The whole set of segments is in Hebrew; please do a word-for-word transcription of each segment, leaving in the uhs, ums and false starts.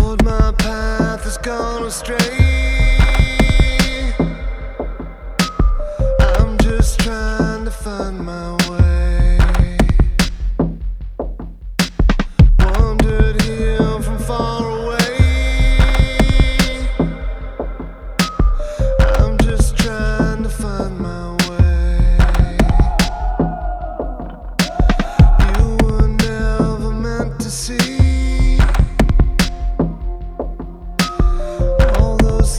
Lord, my path has gone astray. I'm just trying to find my way. Wandered here from far away. I'm just trying to find my way. You were never meant to see all those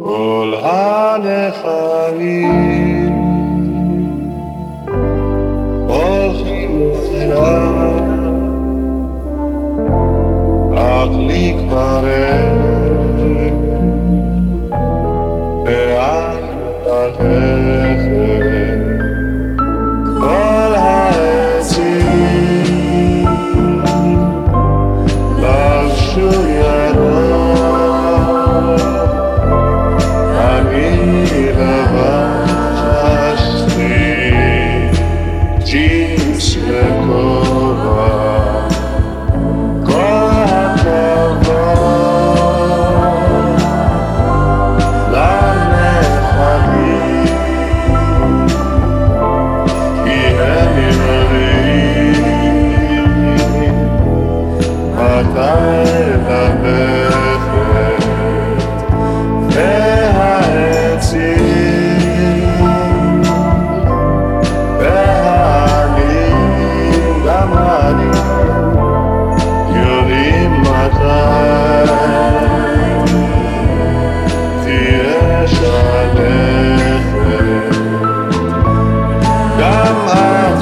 כל הנחלים הולכים אליו, אך לי כבר אין לאן ללכת. כל העצים לבשו ירוק, אני לבשתי ג'ינס וכובע. כל הכבוד לנחלים, כי הם יודעים מתי ללכת. והעצים והעלים, גם אני, יודעים מתי תהיה שלכת. גם את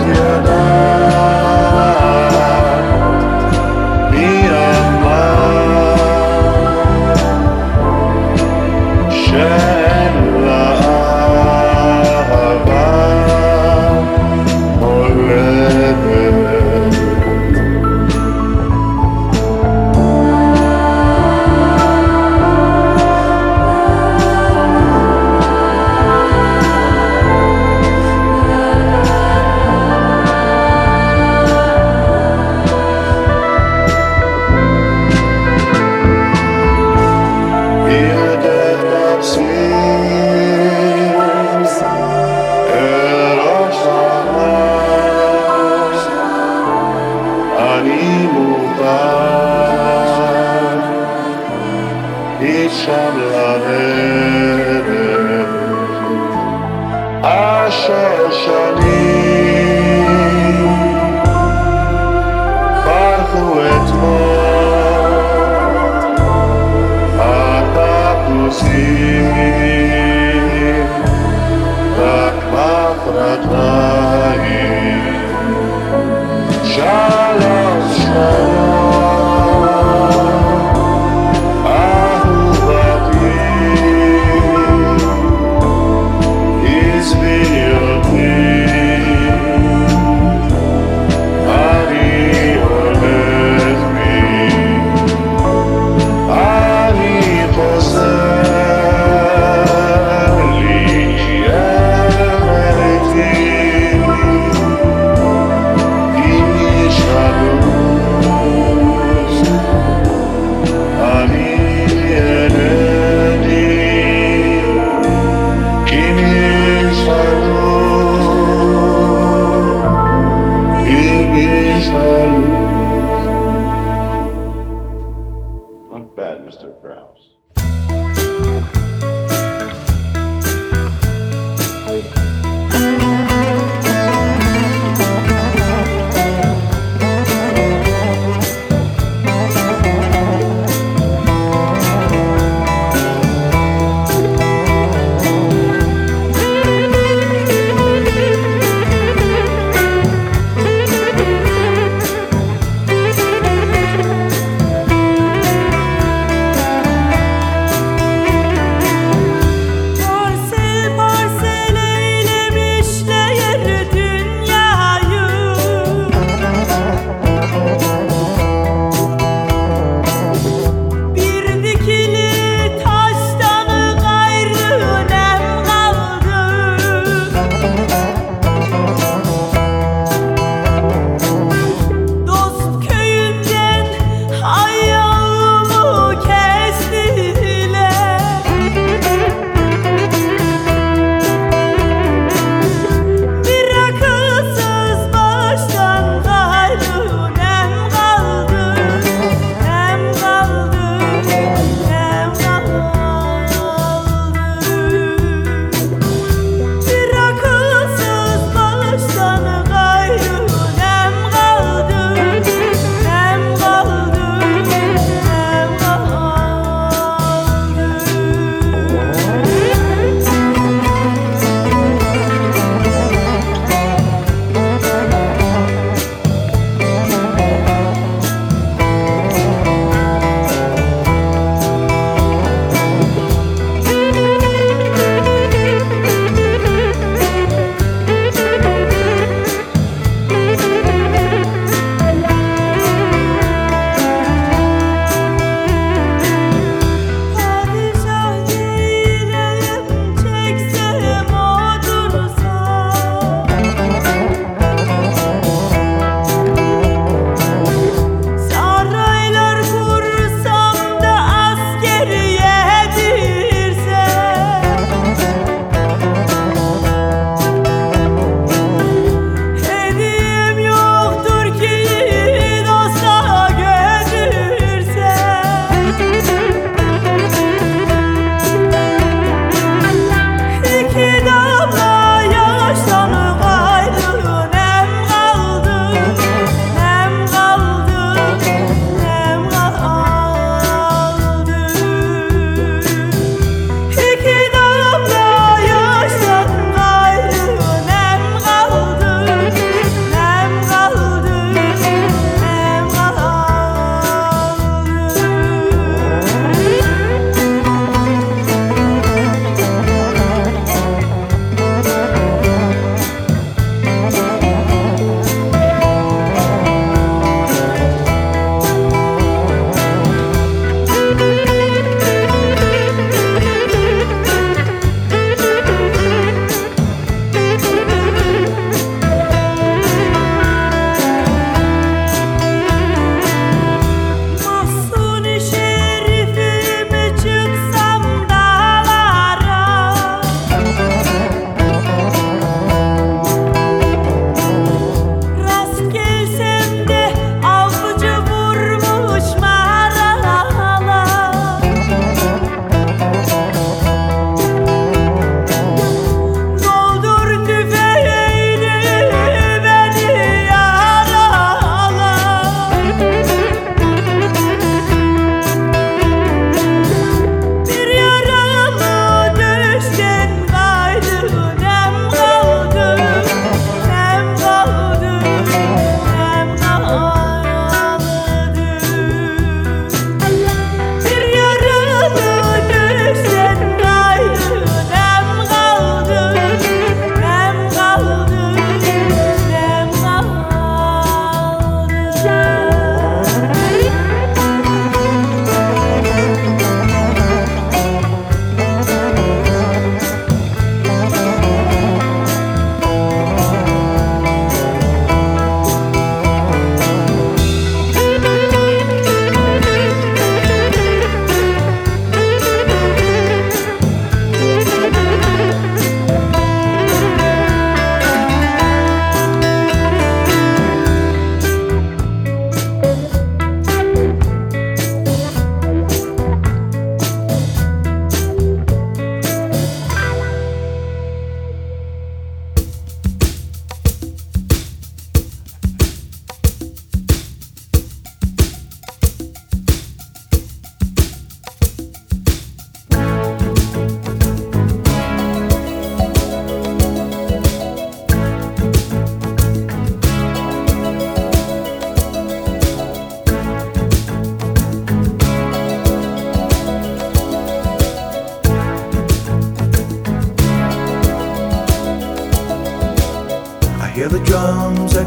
יודעת מי אמר שאין לה אהבה הולדת. אני מוכן משם לרדת, אשר שנים פרחו אתמול הטפוסים, רק מחרתיים. שלום שלום אהובתי, עזבי אותי, אני הולך בי, אני חוזר לי אל ביתי. Not bad, Mister Krause.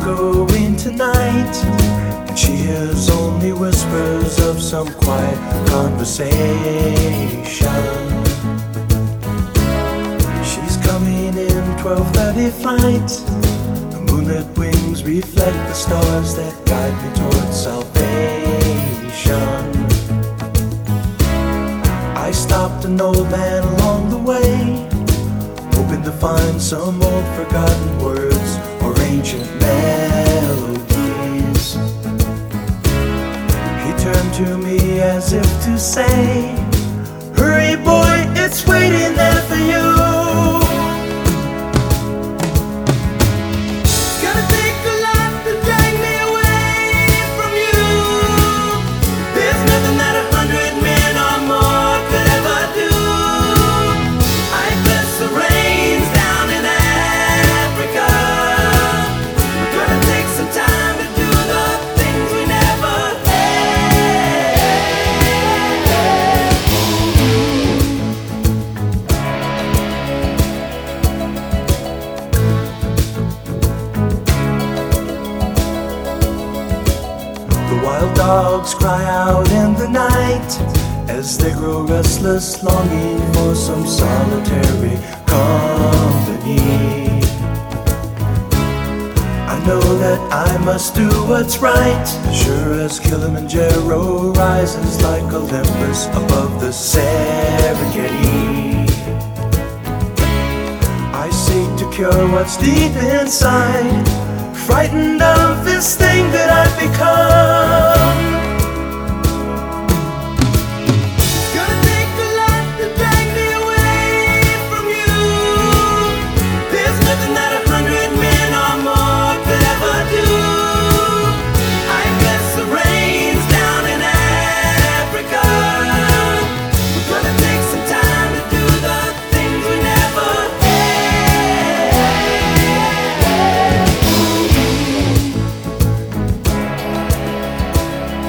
echoing tonight, and she hears only whispers of some quiet conversation. She's coming in twelve thirty flight. The moonlit wings reflect the stars that guide me towards salvation. I stopped an old man along the way, hoping to find some old forgotten words or ancient melodies. He turned to me as if to say, "Hurry boy, it's waiting there for you." Wild dogs cry out in the night as they grow restless, longing for some solitary company. I know that I must do what's right, sure as Kilimanjaro rises like Olympus above the Serengeti. I seek to cure what's deep inside, frightened of this thing that I've become. It's gonna take a lot to drag me away from you. There's nothing that a hundred men or more could ever do. I bless the rains down in Africa. We're gonna take some time to do the things we never had.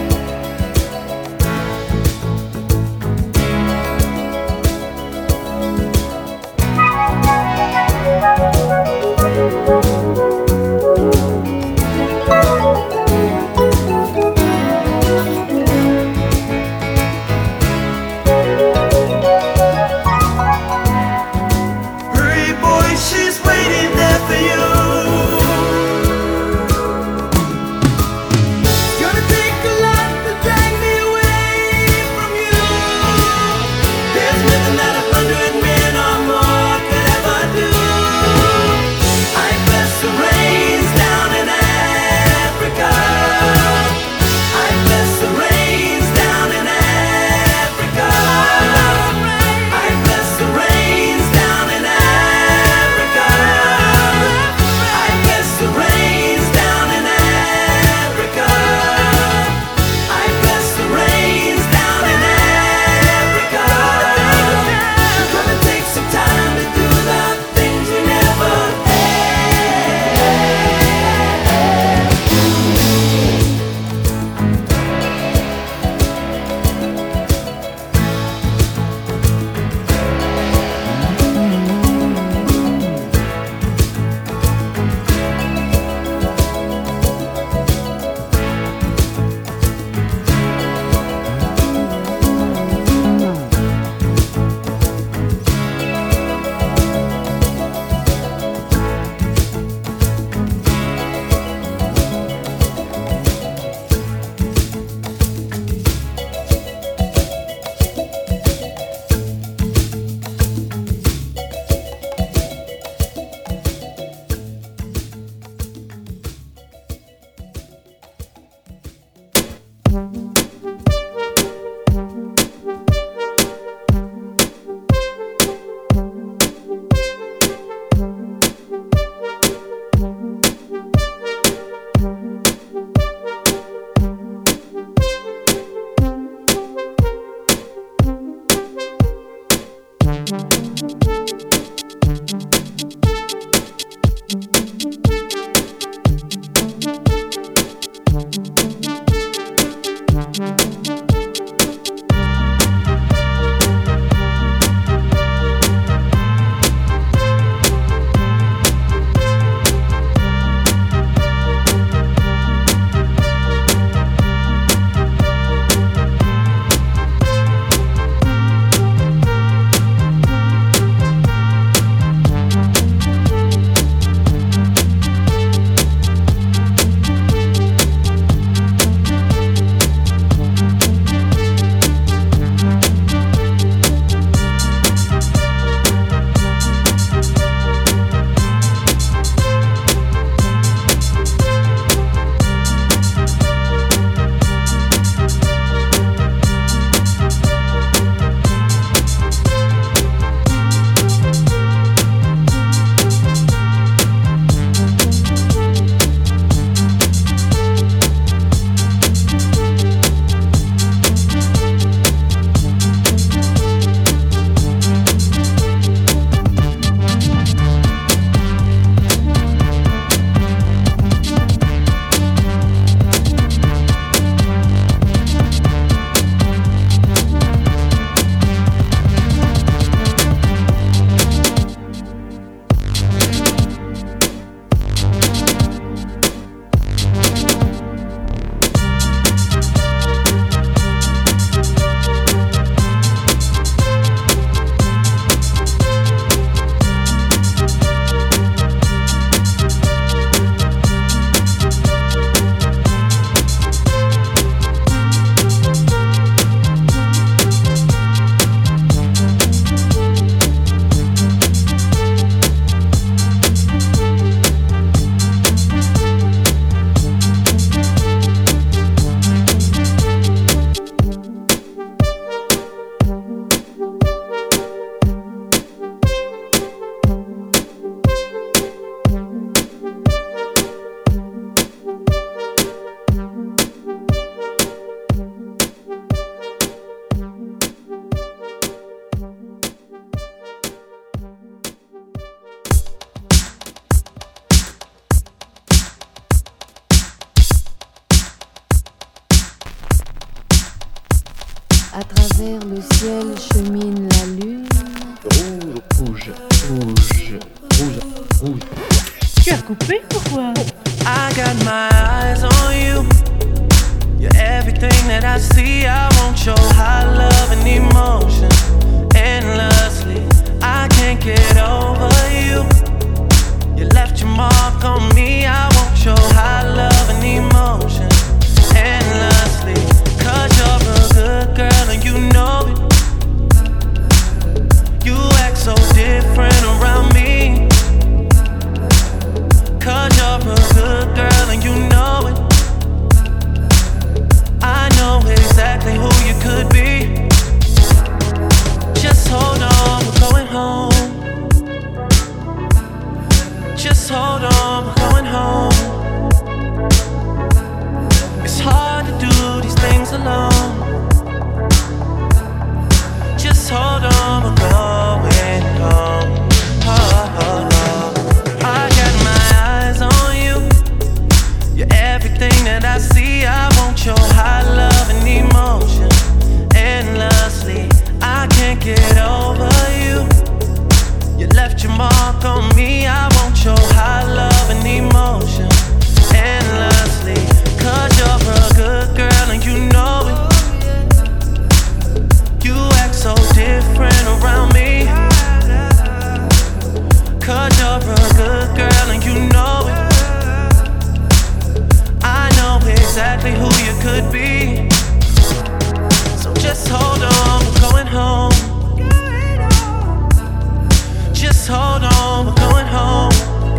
chemine la lune. Rouge, rouge, rouge, rouge, rouge. Tu as coupé pourquoi? I got my eyes on you. You're everything that I see. I want your high love and emotion endlessly. I can't get over you. You left your mark on me. I want your high love and emotion endlessly. Cause you're a good girl and you know it. You act so different around me. Cause you're a good girl and you know it. I know exactly who you could be. Just hold on, we're going home. Just hold on, we're going home. It's hard to do these things alone. Just hold on, we're going home. Oh, oh, oh. I got my eyes on you. You're everything that I see. I want your high love and emotion endlessly. I can't get over you. You left your mark on me. I want your high love and emotion endlessly. Cause you're a good girl and you know it. You act so different around me. Cause you're a good girl and you know it. I know exactly who you could be. So just hold on, we're going home. Just hold on, we're going home.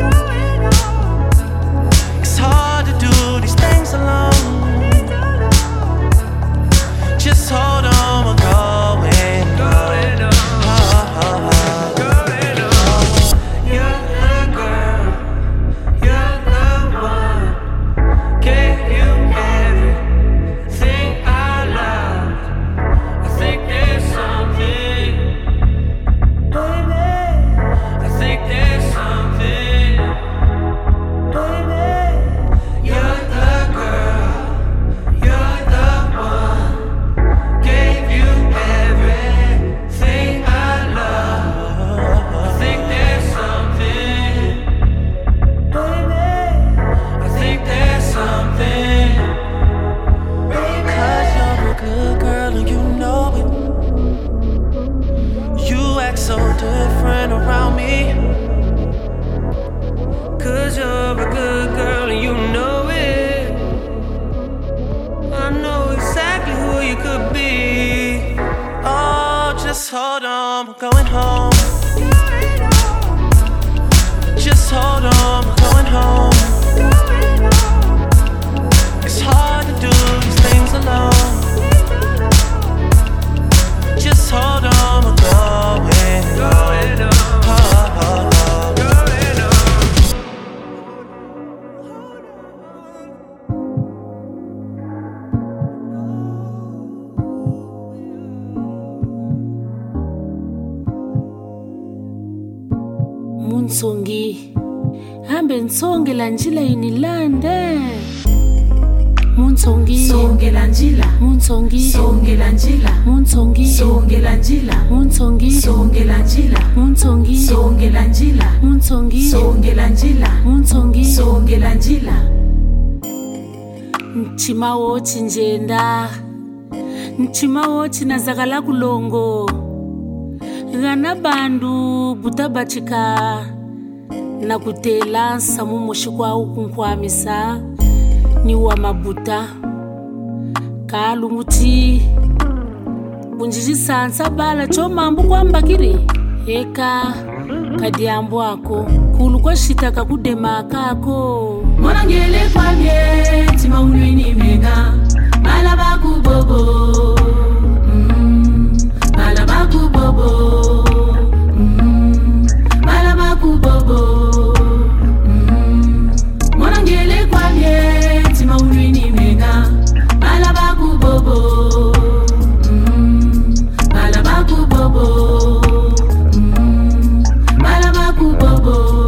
It's hard to do these things alone. Just hold on, we're going home. Oh, oh, oh. You're the girl, you're the one. Gave you everything I love. I think there's something, baby. I think there's something, baby. You're the girl, you're the one. Gave you everything I love. I think there's something, baby. I think there's something, baby. Cause you're a good girl and you know it. You act so different around me. Cause you're a good girl and you know it. I know exactly who you could be. Oh, just hold on, we're going home. Just hold on, we're going home. It's hard to do these things alone. Just hold on, we're going home. Oh, oh, oh. Munsongi hambe nsonge la njila inilande. Munsongi songe la njila, Munsongi songe la njila, Munsongi songe la njila, Munsongi songe la njila, Munsongi songe la njila, Munsongi songe la njila, Munsongi songe la njila. Nchima wochi njenda, nchima wochi nazakala kulongo. Gana bandu butabachika na kutela samu moshikwa ukunkwamisa ni wa mabuta kalumuti bunjiji sansa bala choma mbu kwambakiri eka kadiambo ako kulukwa shitaka kudema kako Mwana ngele kwa mye tima unwini mega malaba kubobo mm, malaba kubobo mm, malaba kubobo mm, Mwana ngele kwa mye tima unwini mega malaba kubobo mm, malaba kubobo mm, malaba kubobo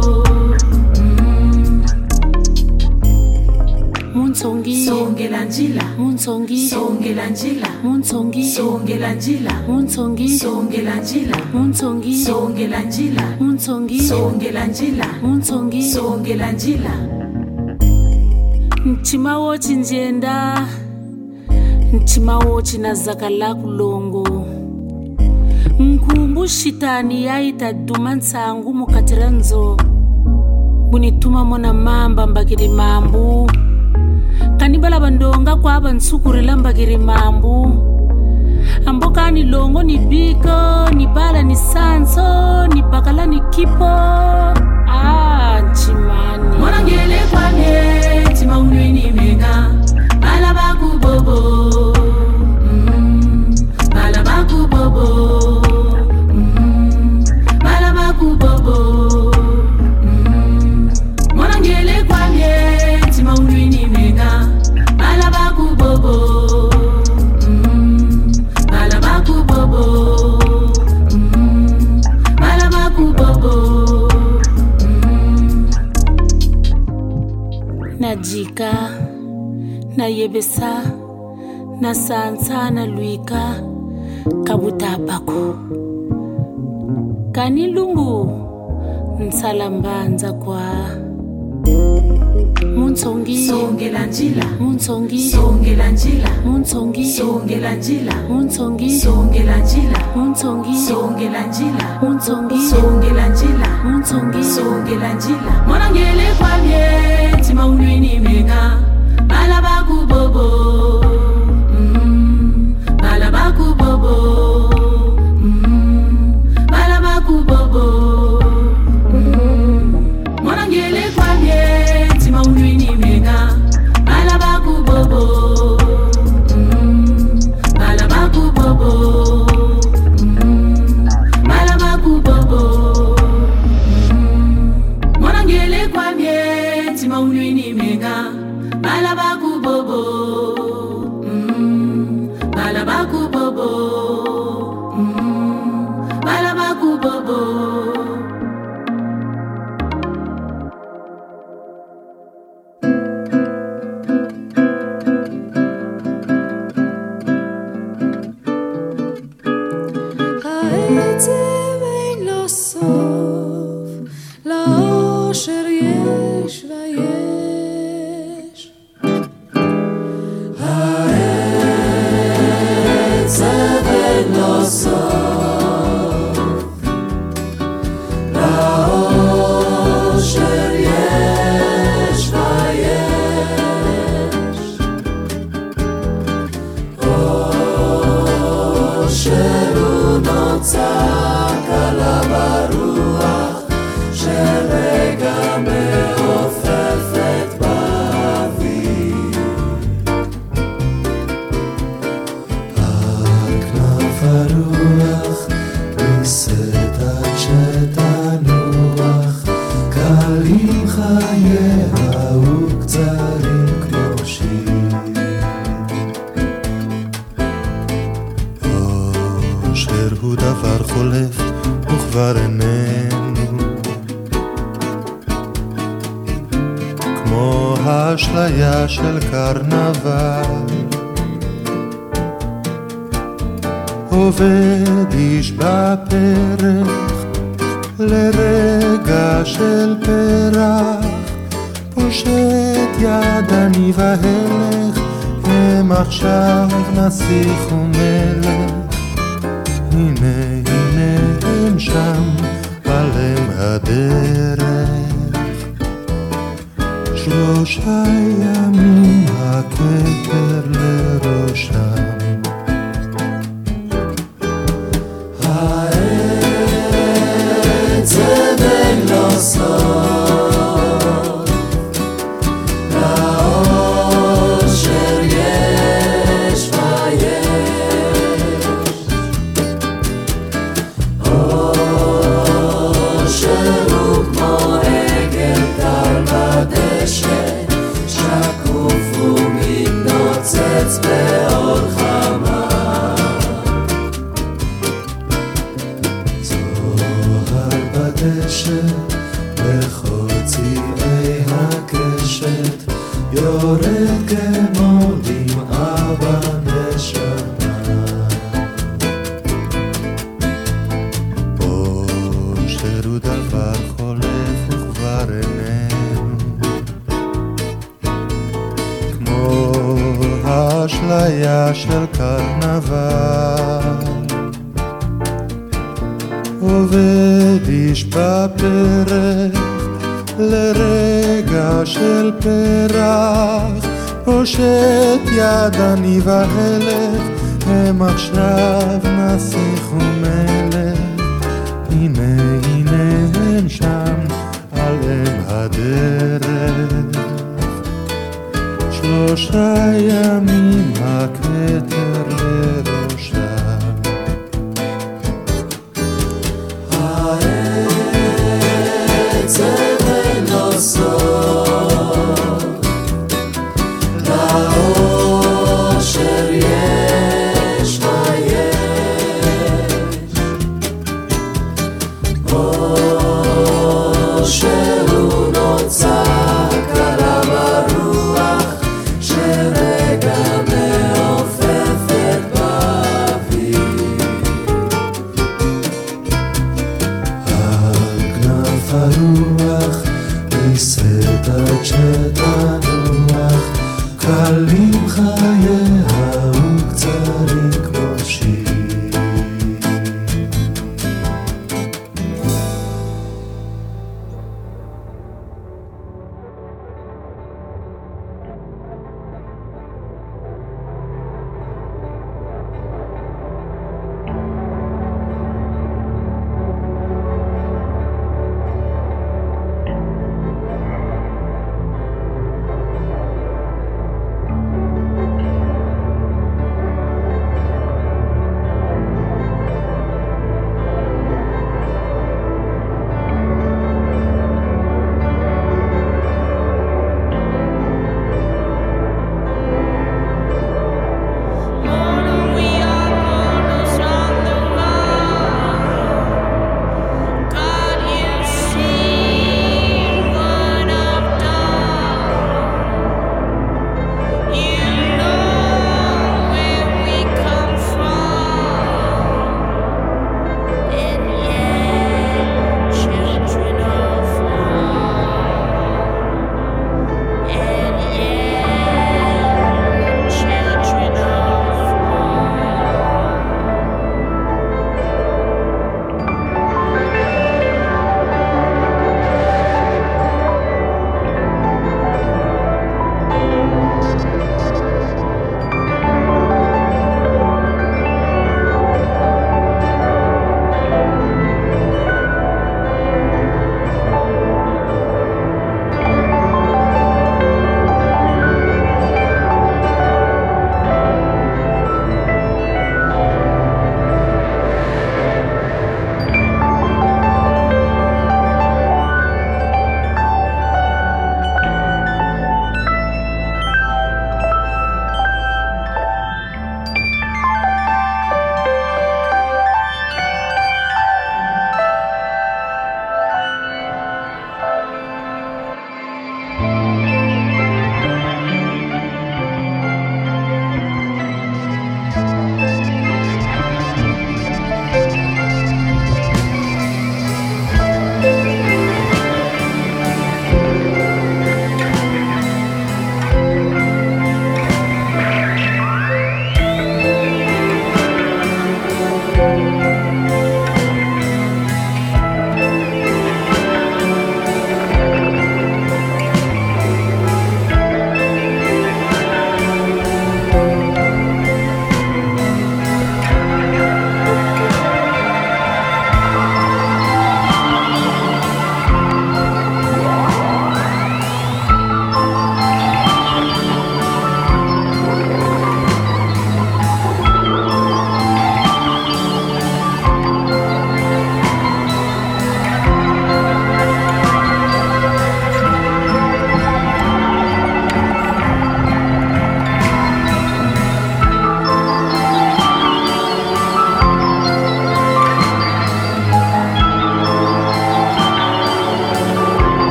Munsongi songe la njila, Muntsongi songela njila Muntsongi songela njila Muntsongi songela njila Muntsongi songela njila Muntsongi songela njila Muntsongi songela njila Nchimawo chinjenda Nchimawo chinazakala kulongo Nkumbu shitani yaita duma nsangu mukatiranzo Bunituma mona mamba mbagiri mambu Kanibala bandonga kwa aba nsukurila mbagiri mambu Amboka ni longo ni biko, ni bala ni sanso, ni bakala ni kipo Ah, nchimani Mwana ngele kwa mie, tima unwe ni menga Bala baku bobo mm, Bala baku bobo mm, Bala baku bobo mm, Mwana ngele kwa mie, tima unwe ni menga Bala baku bobo mm, Bala baku bobo mm, Bala baku bobo mm. Najika, na yebesa, na sansa na luika, kabuta bako. Kanilungu, nsalambanza kwa. Muntsongi, songela njila Muntsongi, songela njila Muntsongi, songela njila Muntsongi, songela njila Muntsongi, songela njila Muntsongi, songela njila Muntsongi, songela njila Mwana ngele kwa mie, tima unwe ni menga Bala baku bobo mm, Bala baku bobo mm, Bala baku bobo mm, Mwana ngele kwa mie, tima unwe ni menga Bala baku bobo mm, Bala baku bobo mm, Bala baku bobo mm, Mwana ngele kwa mie, tima unwe ni menga Bala baku bobo mm, Bala baku bobo mm, Bala baku bobo העצב אין לו סוף, לאושר יש ויש. העצב אין לו סוף, לאושר יש ויש. אושר צעק עליו הרוח שרגע מעופפת באוויר. הכנף הרוח נישאת עד שתנוח, קלים חייה וקצרים כמו שיר. אושר הוא דבר חולף וכבר איננו, כמו האשליה של קרנבל. עובד איש בפרח לרגע של פרח, פושט יד אני והלך, הם עכשיו נסיך ומלך. הנה הנה הם שם עליהם הדרך, שלושה ימים הכתר לראשם. העצב אין לו סוף, לאושר יש ויש. אושר הוא כמו עגל טל בדשא, שקוף ומתנוצץ באור חמה. זוהר בדשא בחוצי הקשת, יורד כמו דמעה רגע של קרנבל, עובד איש בפרק לרגע של פרח, פושט יד הנבהלת, הם עכשיו נסיך ומלך. הנה הנה הם שם על אם הדרך, שלושה ימים הכתר לראשם. העצב אין לו סוף, לאושר יש היש, או שהוא נוצר קלה ברוח שרגע מעופפת בה.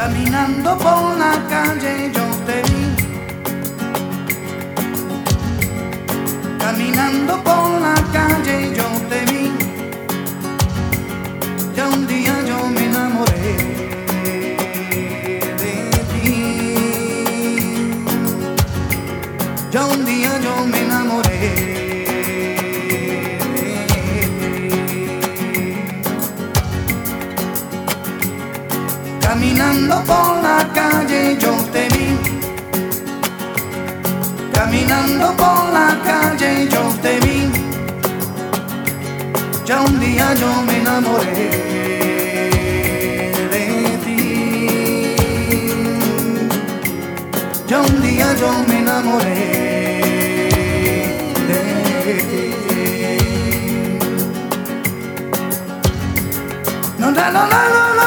Caminando por la calle yo te vi, caminando por la calle yo te vi, ya un día yo me enamoré de ti, ya un día yo me enamoré de ti. Caminando por la calle yo te vi, caminando por la calle yo te vi, ya un día yo me enamoré de ti, ya un día yo me enamoré de ti. No, no, no, no, no, no.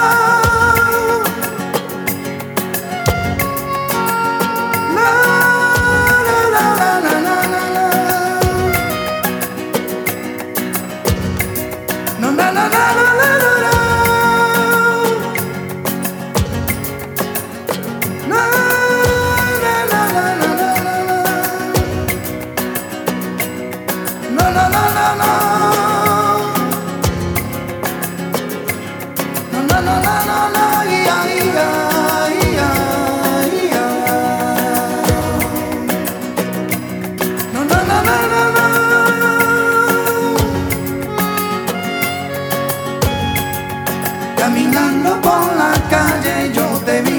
Caminando por la calle yo te vi,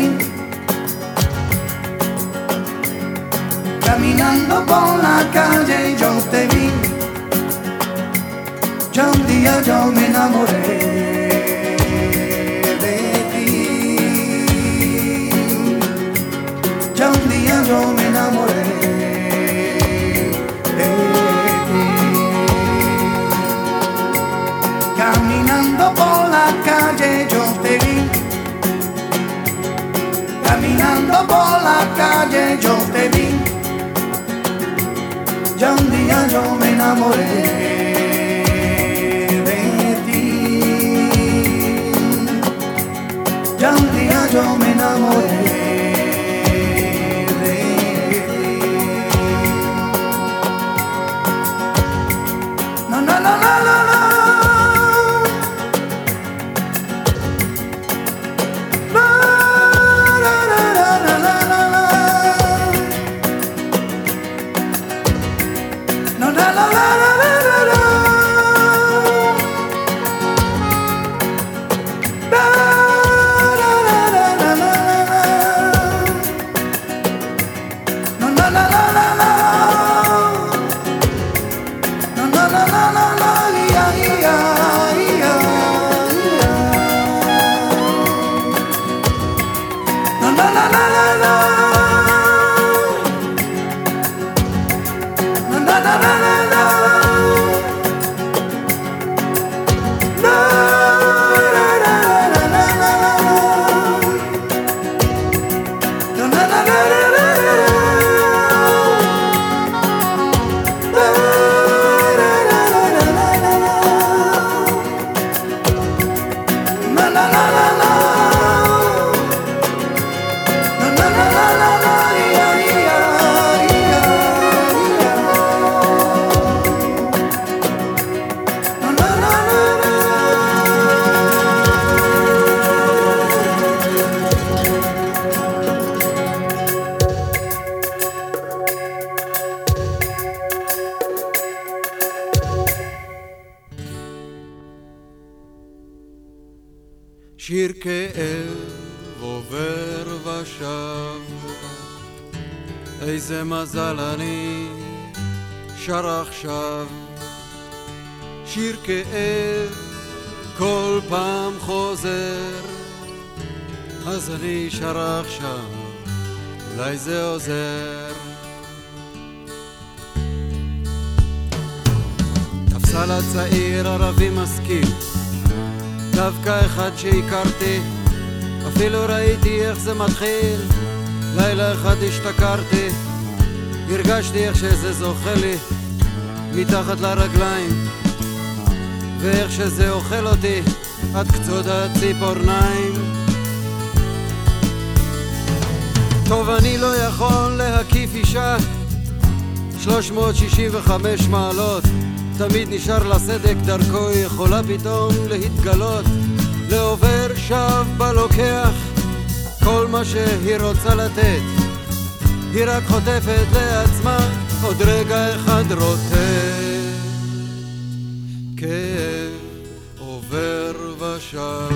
caminando por la calle yo te vi, ya un día yo me enamoré de ti, ya un día yo me enamoré de ti. Caminando por la calle yo te vi, caminando por la calle yo te vi, ya un día yo me enamoré de ti, ya un día yo me enamoré de ti. No, no, no, no, no, no. שיר כאב עובר ושב, איזה מזל אני שר עכשיו. שיר כאב כל פעם חוזר, אז אני שר עכשיו, אולי זה עוזר. תפסה לצעיר ערבי משכיל, דווקא אחד שהכרתי, אפילו ראיתי איך זה מתחיל. לילה אחד השתכרתי, הרגשתי איך שזה זוכה לי מתחת לרגליים, ואיך שזה אוכל אותי עד קצות הציפורניים. אני לא יכול להקיף אישה שלוש מאות שישים וחמש מעלות, תמיד נשאר לסדק דרכו, יכולה פתאום להתגלות, לעובר שב בלוקח כל מה שהיא רוצה לתת, היא רק חוטפת לעצמה עוד רגע אחד רוטט. כאב עובר ושב,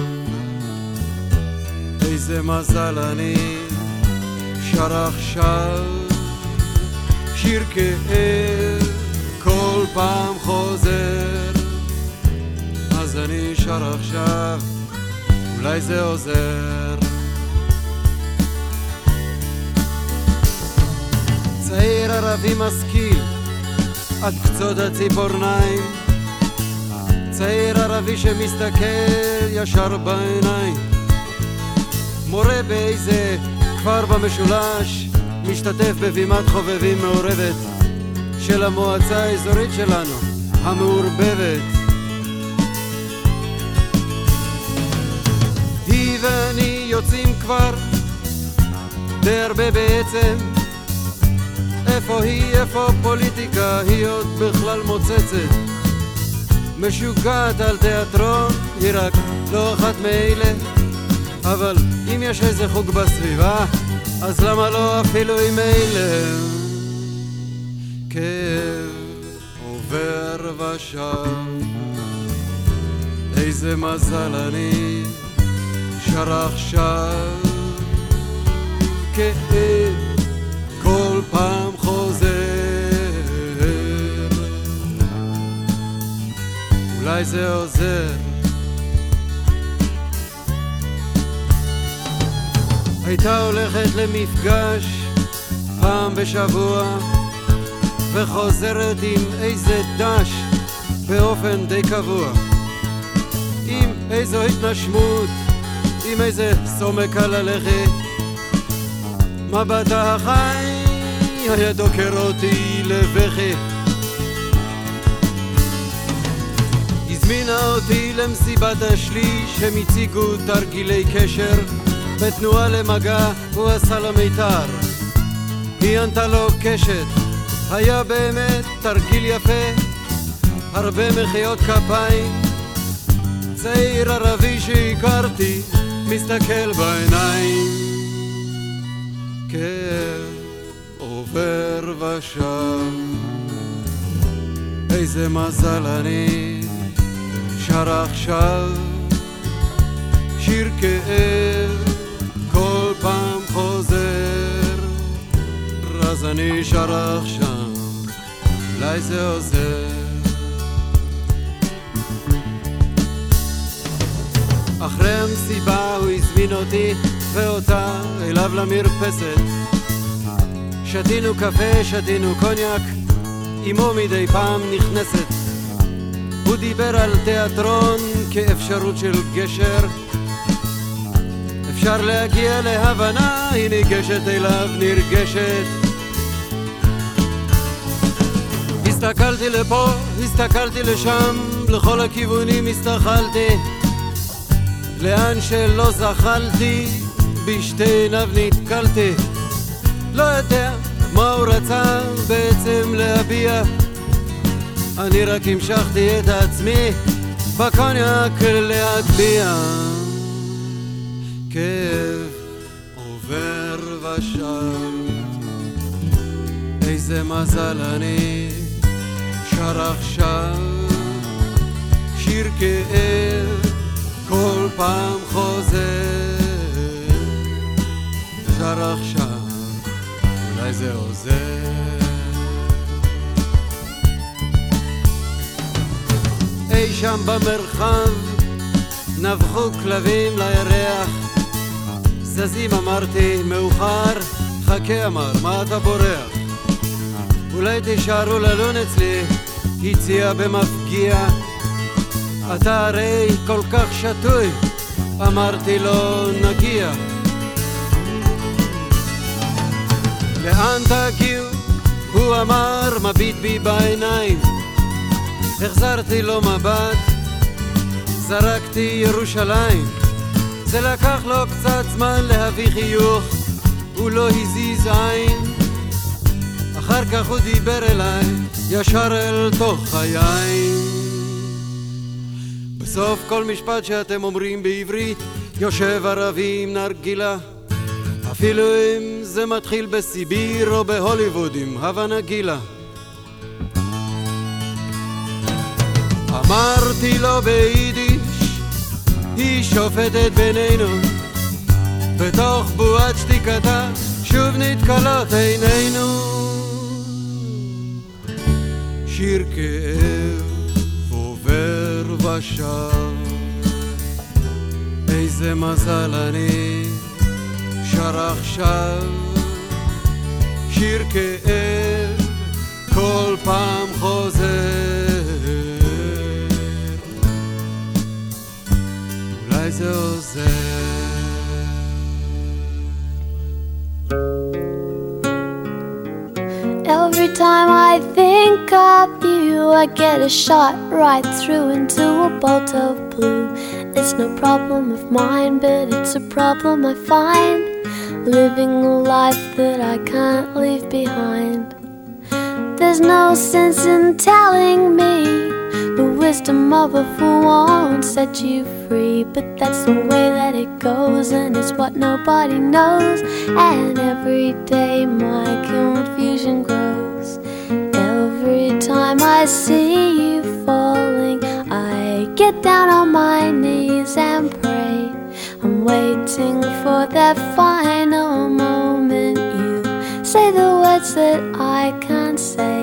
איזה מזל אני שר עכשיו, שיר כאב כל פעם חוזר, אז אני שר עכשיו, אולי זה עוזר. צעיר ערבי משכיל עד קצות הציפורניים, צעיר ערבי שמסתכל ישר בעיניים, מורה באיזה כפר במשולש, משתתף בבימת חובבים מעורבת של המועצה האזורית שלנו, המעורבבת. היא ואני יוצאים כבר די הרבה בעצם, איפה היא, איפה פוליטיקה, היא עוד בכלל מוצצת, משוגעת על תיאטרון, היא רק לא אחת מאלה, אבל אם יש איזה חוג בסביבה, אז למה לא אפילו עם אלה? כאב עובר ושב, איזה מזל אני שר עכשיו, כאב כל פעם חוזר, אולי זה עוזר. הייתה הולכת למפגש פעם בשבוע וחוזרת עם איזה דש באופן די קבוע, עם איזו התנשמות, עם איזה סומק על הלכת, מבטה החי היה דוקר אותי לבכי, הזמינה אותי למסיבת השליש, הם הציגו תרגילי קשר בתנועה למגע, הוא עשה לה מיתר, היא ענתה לו קשת, היה באמת תרגיל יפה, הרבה מחיאות כפיים, צעיר ערבי שהכרתי מסתכל בעיניים, כאב עובר ושב, איזה מזל אני שר עכשיו, שיר כאב כל פעם חוזר, אז אני שר עכשיו, אולי זה עוזר. אחרי המסיבה הוא הזמין אותי ואותה אליו למרפסת, שתינו קפה, שתינו קוניאק, אמו מדי פעם נכנסת, הוא דיבר על תיאטרון כאפשרות של גשר, אפשר להגיע להבנה, היא ניגשת אליו נרגשת, הסתכלתי לפה, הסתכלתי לשם, לכל הכיוונים הסתכלתי, לאן שלא זחלתי, בשתי עיניו נתקלתי, לא יודע מה הוא רצה בעצם להביע, אני רק המשכתי את עצמי בקוניאק להטביע, כאב עובר ושב, איזה מזל אני שר עכשיו, שיר כאב כל פעם חוזר, שר עכשיו, אולי זה עוזר. אי שם במרחב נבחו כלבים לירח, זזים אמרתי מאוחר, חכה אמר מה אתה בורח, אולי תישארו ללון אצלי, הציע במפגיע, אתה הרי כל כך שטוי, אמרתי לו נגיע, לאן תגיעו? הוא אמר מביט בי בעיניים, החזרתי לו מבט, זרקתי ירושלים, זה לקח לו קצת זמן להביא חיוך, הוא לא הזיז עין, אחר כך הוא דיבר אליי ישר אל תוך היין. בסוף כל משפט שאתם אומרים בעברית יושב ערבי עם נרגילה, אפילו אם זה מתחיל בסיביר או בהוליווד עם הבנה גילה. אמרתי לו ביידיש, היא שופטת בינינו, בתוך בועת שתיקתה שוב נתקלות עינינו. שיר כאב עובר ושב, איזה מזל אני שר עכשיו. שיר כאב כל פעם חוזר, אולי זה עוזר. Every time I think of you, I get a shot right through into a bolt of blue. It's no problem of mine, but it's a problem I find, living a life that I can't leave behind. There's no sense in telling me the wisdom of a fool won't set you free, but that's the way that it goes, and it's what nobody knows. And every day my confusion grows. Every time I see you falling, I get down on my knees and pray. I'm waiting for that final moment you say the words that I can't say.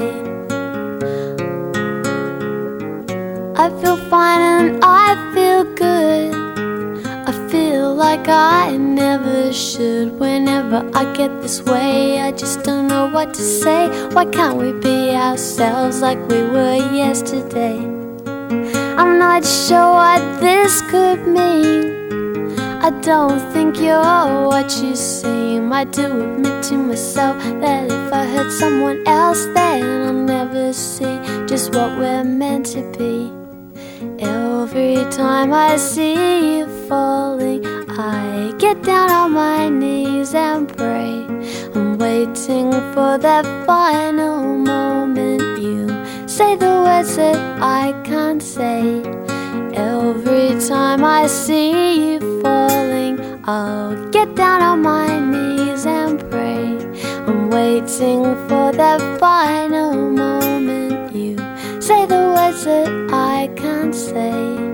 I feel fine and I feel good. I feel like I never should. Whenever I get this way, I just don't know what to say. Why can't we be ourselves like we were yesterday? I'm not sure what this could mean. I don't think you're what you seem. I do admit to myself that if I hurt someone else, then I'll never see just what we're meant to be. Every time I see you falling, I get down on my knees and pray. I'm waiting for that final moment you say the words that I can't say. Every time I see you falling, I'll get down on my knees and pray. I'm waiting for that final moment you say the words that I can't say.